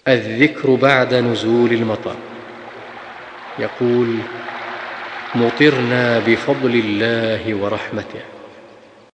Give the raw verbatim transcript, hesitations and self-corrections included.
الذكر بعد نزول المطر. يقول: مطرنا بفضل الله ورحمته.